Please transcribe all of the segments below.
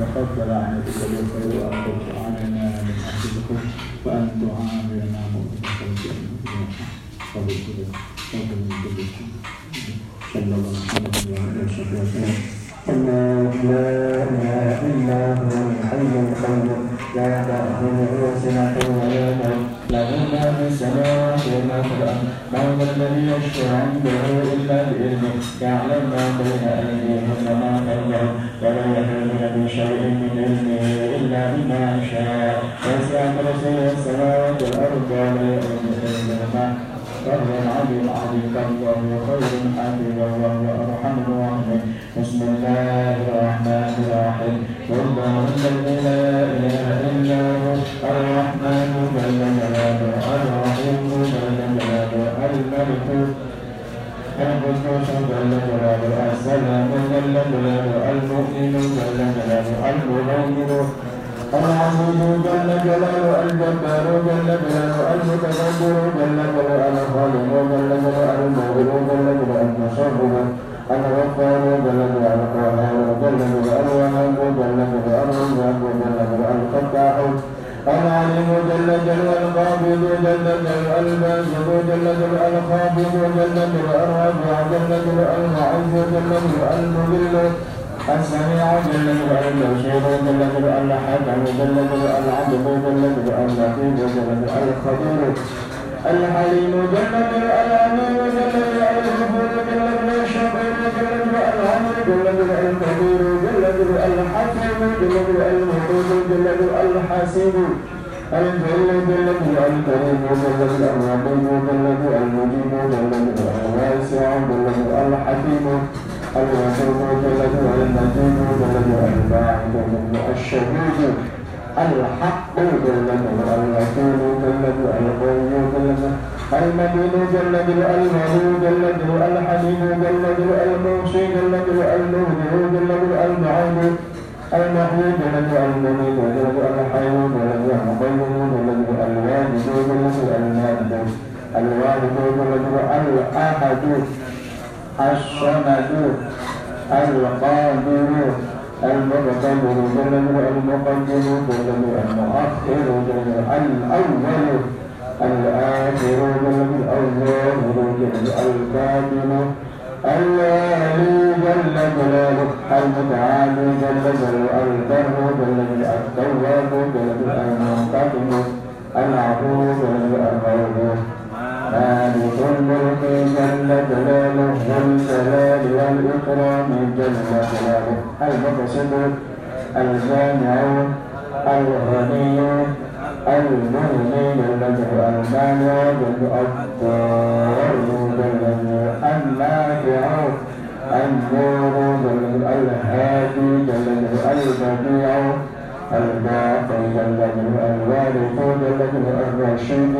تقبل عنك بالخير وأن ترفعنا من أجلكم وأن تعاملنا مؤمنة بالجنة صلى الله عليه وسلم. الله لا إله إلا هو الحي القيوم لا تأخذه سنة ولا نوم له ما في السماوات وما في الأرض من الذي يشفع عنده إلا بإذنه يعلم ما بين أيديهم وما خلفهم ولا يحيطون بشيء من علمه إلا بما شاء وسع كرسيه السماوات والأرض ولا يؤوده حفظهما وهو العلي العظيم وهو خير حافظا وهو أرحم الراحمين. بسم الله الرحمن الرحيم قل الذي لا إله إلا هو الرحمن جل جلاله الرحيم جل جلاله الملك القدوس جل جلاله السلام جل جلاله المؤمن جل جلاله المهيمن العزيز جل جلاله الجبار جل جلاله المتكبر جل جلاله الخالق جل جلاله المغفر جل جلاله المصرف الغفار جل جلاله القهار جل جلاله الوهاب جل جلاله الرزاق جل جلاله الفتاح العليم جل جلاله القابض جل جلاله الباسط جل جلاله الخافض جل جلاله الرافع جل جلاله المعز جل جلاله المذل السميع جل جلاله البصير جل جلاله الحكم جل جلاله العدل جل جلاله اللطيف جل جلاله الخبير الحليم جل جلاله العليم جل جلاله الغفور جل جلاله الشكور جل جلاله العليم جل جلاله الكبير جل جلاله الحكيم جل جلاله المحيط جل جلاله الحسيب الجل جل جلاله الكريم جل جلاله الرقيب جل جلاله المجيب جل جلاله الواسع جل جلاله الحكيم الواسع جل جلاله المجيد جل جلاله الباعث جل جلاله الشهيد الحق جل جلاله الوكيل جل جلاله القوي جل جلاله المبين جل جلاله الولي جل جلاله الحليم جل جلاله الموصي جل جلاله المبدع جل جلاله المعين المحيي جل جلاله المميت جل جلاله الحي جل جلاله القيوم جل جلاله الواجد جل جلاله الماجد الوالد جل جلاله الأحد الصمد القادر المتكبر جل جلاله المقدم جل جلاله المؤخر جل جلاله الأول الآخر جل جلاله الظاهر جل جلاله الباطن الوالي جل جلاله المتعالي جل جلاله البر جل جلاله التواب جل جلاله المنتقم العفو جل جلاله الغفور مالك الملك جل جلاله ذو الجلال والإكرام جل جلاله المقسط الجامع الغني المغني جل جلاله المانع جل الضار جل جلاله النافع النور جل جلاله الهادي جل جلاله البديع الباقي جل جلاله الوارث جل جلاله الرشيد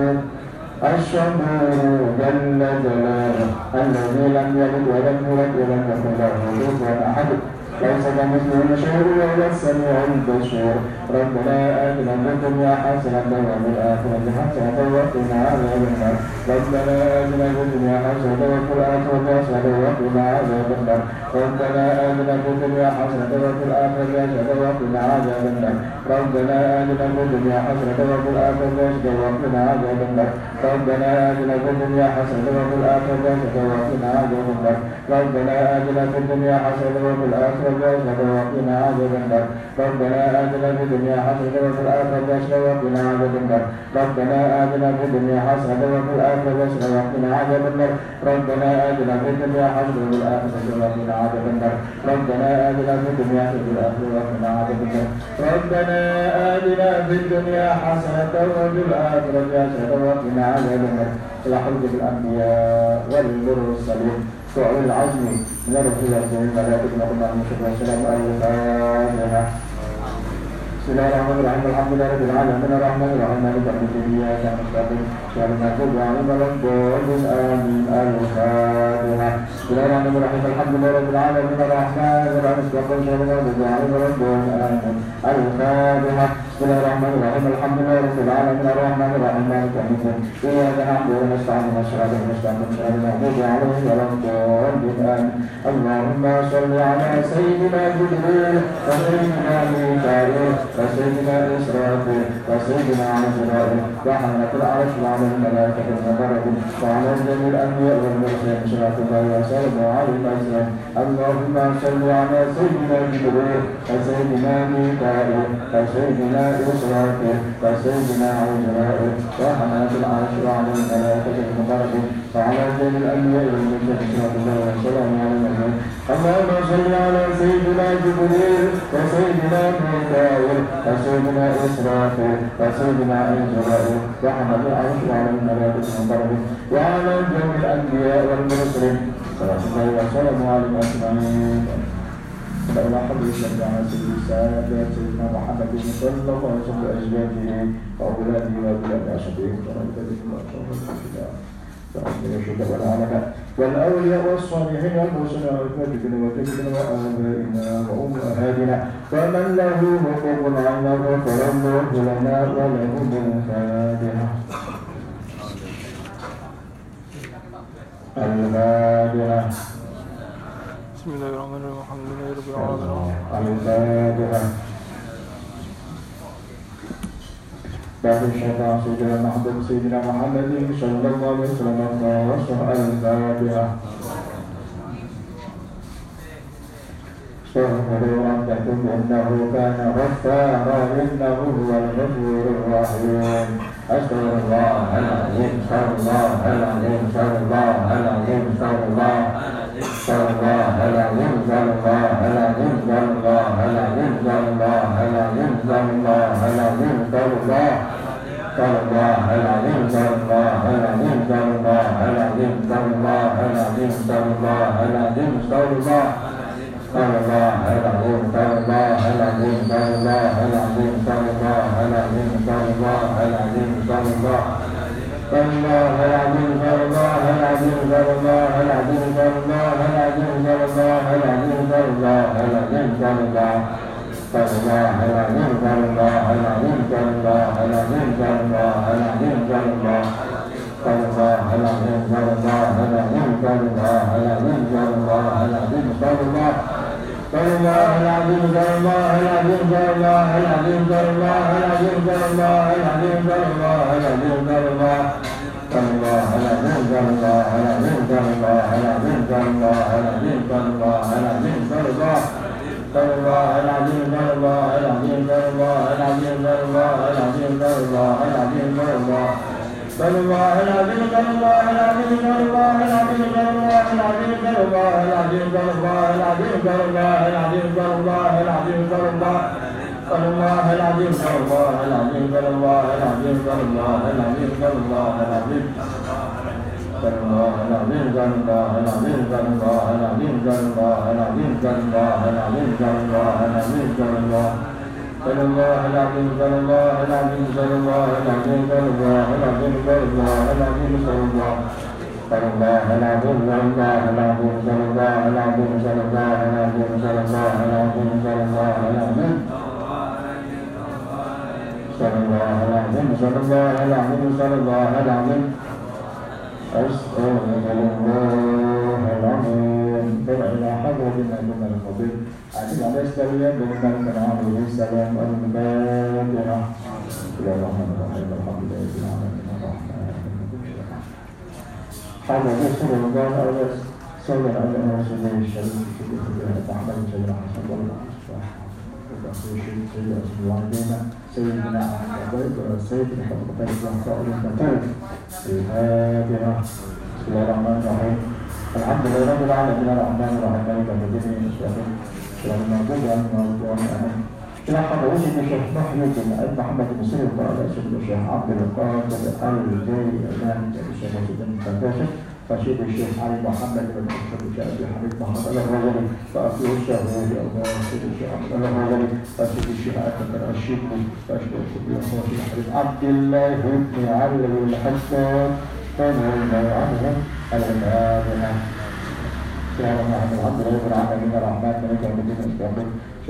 الصبور جل جلاله الذي لم يلد ولم يولد ولم يكن له كفوا احد ليس كمثله شيء وهو السميع البصير. ربنا آتنا في الدنيا حسنة وفي الآخرة حسنة وقنا عذاب النار. ربنا آتنا في الدنيا حسنة وفي الآخرة حسنة وقنا عذاب النار. ربنا آتنا في الدنيا حسنة وفي الآخرة حسنة وقنا عذاب النار. ربنا آتنا في الدنيا حسنة وفي الآخرة حسنة وقنا عذاب النار. ربنا آتنا في الدنيا حسنة وفي الآخرة حسنة وقنا عذاب النار. ربنا آتنا في الدنيا حسنة وفي الآخرة وقنا عذاب النار. ربنا آتنا في الدنيا حسنة وفي الآخرة حسنة وقنا عذاب النار. ربنا آتنا في الدنيا حسنة وفي الآخرة حسنة وقنا عذاب النار. ربنا آتنا في الدنيا حسنة وفي الآخرة وقنا عذاب النار. ربنا آتنا في الدنيا حسنة وفي الآخرة وقنا عذاب النار. ربنا آتنا في الدنيا حسنة وفي الآخرة حسنة وقنا عذاب النار. إلى حضرة الأنبياء والمرسلين وأولي العزم من الرسل والملائكة والمؤمنين والسلام عليكم. بسم الله الرحمن الرحيم الحمد لله رب العالمين الرحمن الرحيم مالك يوم الدين إياك نستعين اهدنا المغضوب عليهم ولا الضالين آمين. الفاتحة. بسم الله الرحمن الرحيم الحمد لله رب العالمين الرحمن الرحيم مالك يوم الدين إياك نستعين اهدنا المغضوب عليهم ولا الضالين آمين. الفاتحة. Bismillahirrahmanirrahim. Alhamdulillahirabbil alamin arrahmanirrahim maliki yaumiddin. Iyyaka na'budu wa nasta'inu ihdinas siratal mustaqim siratal maghdubi 'alaihim waladdallin. Allahumma shalli 'ala sayyidina Jibril wa sayyidina Mika'il wa sayyidina Israfil wa sayyidina Azrail wa hamalatul 'arsy wa 'alal malaikatil muqarrabin wa 'ala jami'il anbiya'i wal mursalin sallallahu wa sallam 'alaihi wa sallam. Allahumma shalli 'ala sayyidina Jibril wa sayyidina Mika'il wa sayyidina Israfil wa sayyidina Azrail wa hamalatul 'arsy wa 'alal malaikatil muqarrabin wa 'ala jami'il anbiya'i wal mursalin sallallahu wa sallam 'alaihi wa sallam. اللهم صل على سيدنا جبريل وسيدنا ميكائيل وسيدنا إسرافيل وسيدنا عزرائيل وحمل العرش وعلى الملائكة المقربين وعلى جميع الأنبياء والمرسلين صلى الله وسلم عليهم أجمعين. لا إله إلا الله على سيدنا محمد صلى الله عليه وسلم وأزواجه وأولاده وأولاد أصحابه والأولياء والصالحين والمرسلين والكاتبين وكتبنا وآبائنا وأمهاتنا ومن له حقوق عنا فله لنا ولهم الفاتحة. الفاتحة. بسم الله الرحمن الرحيم الحمد لله رب العالمين. الفاتحة. بعد الشفاعة سيدنا محمد صلى الله عليه وسلم الفاتحة. استغفروا ربكم إنه كان غفارا إنه هو الغفور الرحيم. أستغفر الله العظيم أستغفر الله العظيم أستغفر الله العظيم أستغفر الله العظيم أستغفر الله العظيم أستغفر الله العظيم أستغفر الله العظيم أستغفر الله العظيم أستغفر الله العظيم أستغفر الله العظيم أستغفر الله العظيم أستغفر الله العظيم أستغفر الله العظيم أستغفر الله Allah al-azim Allah al-azim Allah al-azim Allah al-azim Allah al-azim Allah Allah al-azim Allah al-azim Allah al-azim Allah al-azim Allah al-azim Allah al-azim Allah Allah al-azim Allah al-azim Allah al-azim Allah al-azim Allah Allah al-azim Allah al-azim Allah al-azim Allah al-azim Allah الله العظيم الله العظيم الله العظيم الله العظيم الله العظيم الله العظيم الله الله العظيم الله العظيم الله العظيم الله العظيم الله العظيم الله الله العظيم الله العظيم الله العظيم الله العظيم الله العظيم الله الله العظيم الله العظيم الله العظيم الله العظيم الله العظيم الله العظيم الله العظيم الله العظيم الله العظيم الله العظيم الله العظيم الله العظيم الله العظيم الله العظيم الله العظيم الله العظيم الله العظيم الله العظيم الله العظيم الله صلى الله العظيم صلى الله العظيم صلى الله العظيم صلى الله العظيم صلى الله العظيم صلى الله صلى الله العظيم صلى الله العظيم صلى الله العظيم صلى الله العظيم صلى الله العظيم صلى الله العظيم صلى الله العظيم صلى الله العظيم صلى الله العظيم أستغفر الله العظيم إلى حضرة النبي الفضيل أجل على السلام بمن كان عليه السلام الفاتحة. إلى الرحمن الرحيم الحمد لله رب العالمين الرحمن حضر رسول الله عليه صلى على رسوله الشريف في الخير محمد سيدنا حسن الله سيدنا سيدنا الفاتحة. بسم الله الرحمن الرحيم الحمد لله رب العالمين الرحمن الرحيم مالك يوم الدين المستقيم صراط المغضوب عليهم ولا الضالين. إلى حضرة الشيخ محي بن محمد بن سليم وعلى سيدنا الشيخ عبد القادر الجيلاني الشيخ سيدنا الفتاشي فشيخ الشيخ علي محمد بن أشرف الشيخ أبي حميد محمد الغزالي فأخيه الشيخ الله سيد الشيخ عبد الله الغزالي فشيخ الشيخ أكبر الشيخي فأشهد كل أخوة الحبيب عبد الله بن علي الحسن فنعم عنهم الفاتحة. الحمد لله رب العالمين الرحمن مالك يوم الدين المستقيم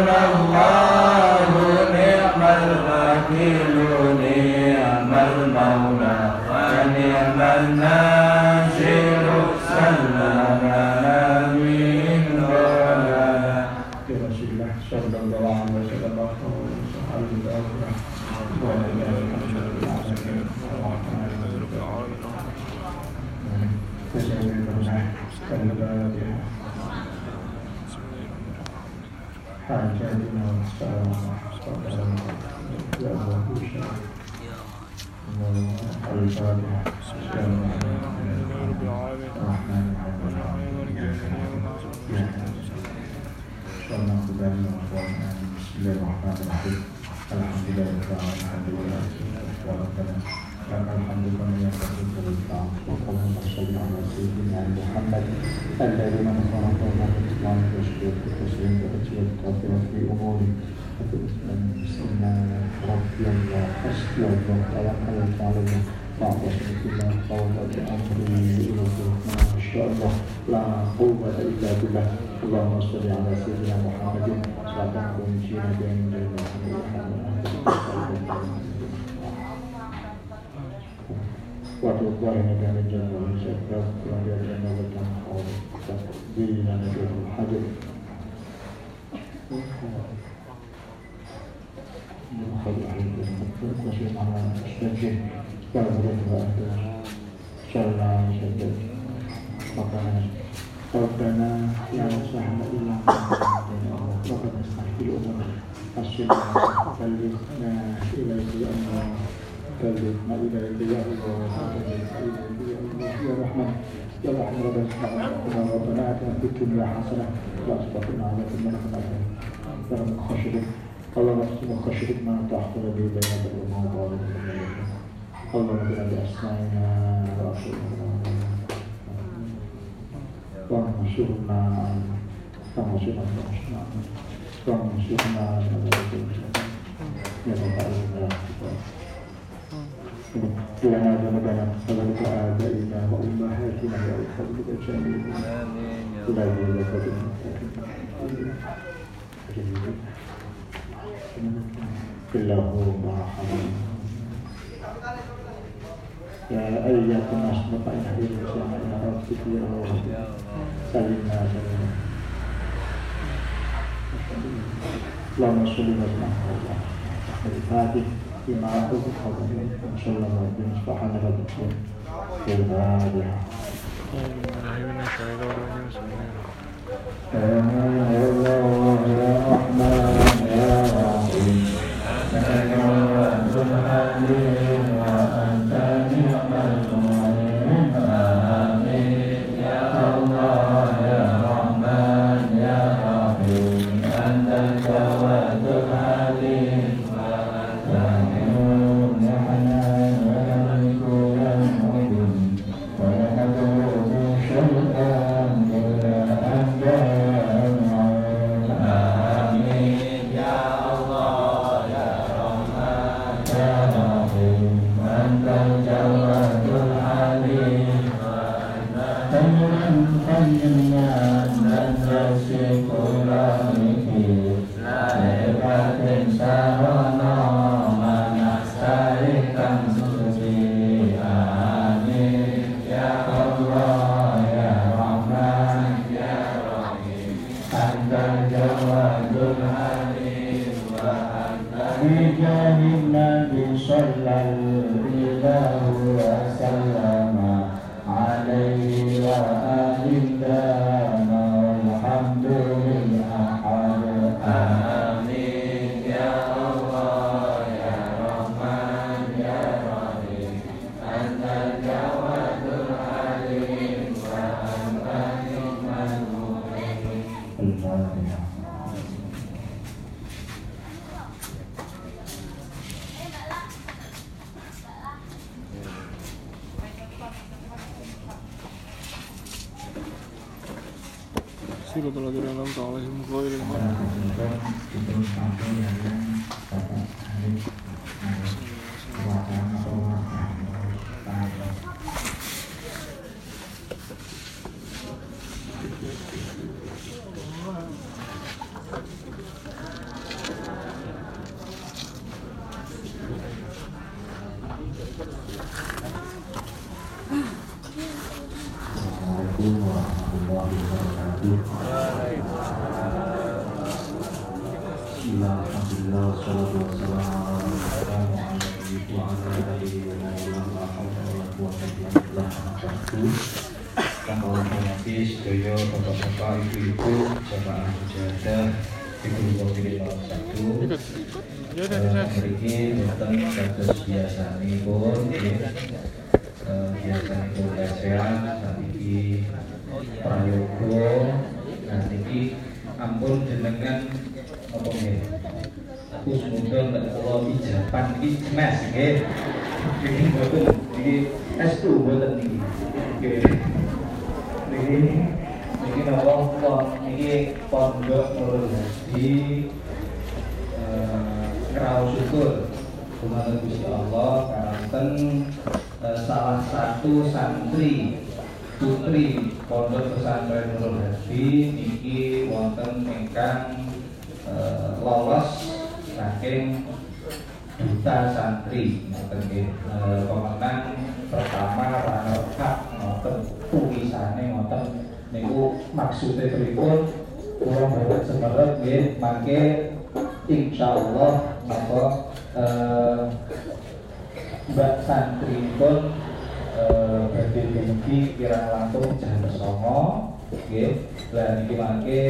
Hasbunallahu ni'mal wakil ni'mal maula wa ni'man nasir sallallahu min wala Rasulullah sallallahu alaihi الذين نصروا الله الإسلام وشكر التسليم وأجل التوفيق في أموري بسمنا ربي الله حسبي الله توكلت على الله واعتصمت بالله فوضعت أمري إلى الرحمن إن شاء الله لا قوة إلا بالله اللهم صل على سيدنا محمد صلاة ونجينا بين waktu keluarga negara jalan sebelah keluarga negara berkan Allah di dalam negara hadir menghadir itu masih mana sebagai kalau berada ada jalan sebagai makanan Rabbana yang sahna ilang Rabbana sahil umur asyidna balidna ilaihi Allah كلمة إليك يا الله يا رحمن يا رحمن ربنا آتنا في الدنيا حسنة وأصبحنا على كل من يا رب خشيتك اللهم اغفر خشيتك ما تحصل به بين الأمور اللهم بنا بأسمائنا وأبصارنا وانصرنا يا رب العالمين لنا ذنوبنا وذنوب آبائنا وأمهاتنا وأصحابنا أجمعين لا ذنوب إلا هو مرحمنا يا أيها الناس مطمئن به الإسلام إلى ربك يا رب سلمنا اللهم صل وسلم على الفاتح فيما أعطوك حضر إن شاء الله ربنا سبحانه وتعالى في الغالية يا الله يا رحمن يا رحيم لك الوعد الحليم وأنت نعم المعين آمين يا الله يا رحمن يا رحيم أنت الجواد الحليم صراط الذين أنعمت عليهم غير المغضوب عليهم Assalamualaikum warahmatullahi wabarakatuh. Alhamdulillah, wassalatu wassalamu ala sedaya bapak-bapak, ibu-ibu, jamaah mujahadah Ibu Wakil 01 memiliki tentang kasus biasanipun biasanipun lesehan saniki prayoga saniki ampun jenengan apa nggih aku semoga nek kula pijapan iki jelas nggih iki mboten iki S2 mboten niki niki napa niki pondok Nurul Hadi ngraos syukur dumateng Gusti Allah karanten salah satu santri putri pondok pesantren Nurul Hadi niki wonten ingkang lolos saking duta santri pemenang pertama runner up ngoten tulisane ngoten niku maksude pripun kula boten semerep nggih mangke insyaallah napa mbak santri pun badhe dumugi kirang langkung jam 09.00 nggih lan niki mangke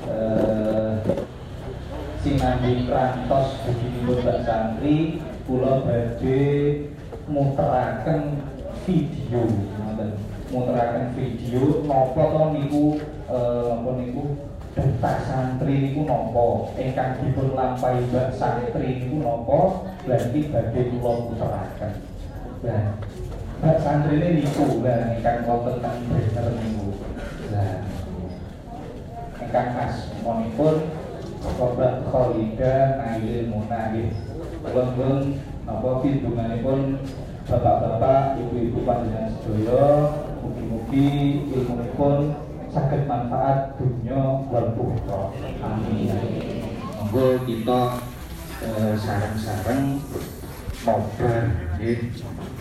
sinambi prantos begini mbak santri kula badhe muteraken video muteraken video napa to niku apa niku duta santri niku napa ingkang dipun lampahi mbak santri niku napa berarti badhe kula muteraken. Lah mbak santri niku lah ingkang wonten teng bener niku. Lah ingkang asmanipun Bapak Khalidah Nailil Muna nggih. Kula-kula napa pidunganipun bapak-bapak, ibu-ibu panjenengan sedaya mugi-mugi ilmunipun saged manfaat dunya wal ukhra. Amin. Monggo kita sareng-sareng mabar nggih.